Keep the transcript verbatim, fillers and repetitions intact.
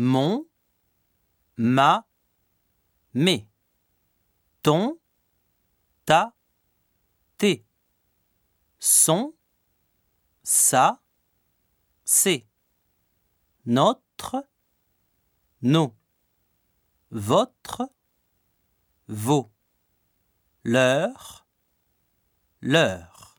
mon, ma, mes, ton, ta, tes, son, sa, c'est, notre, nos, votre, vos, leur, leur.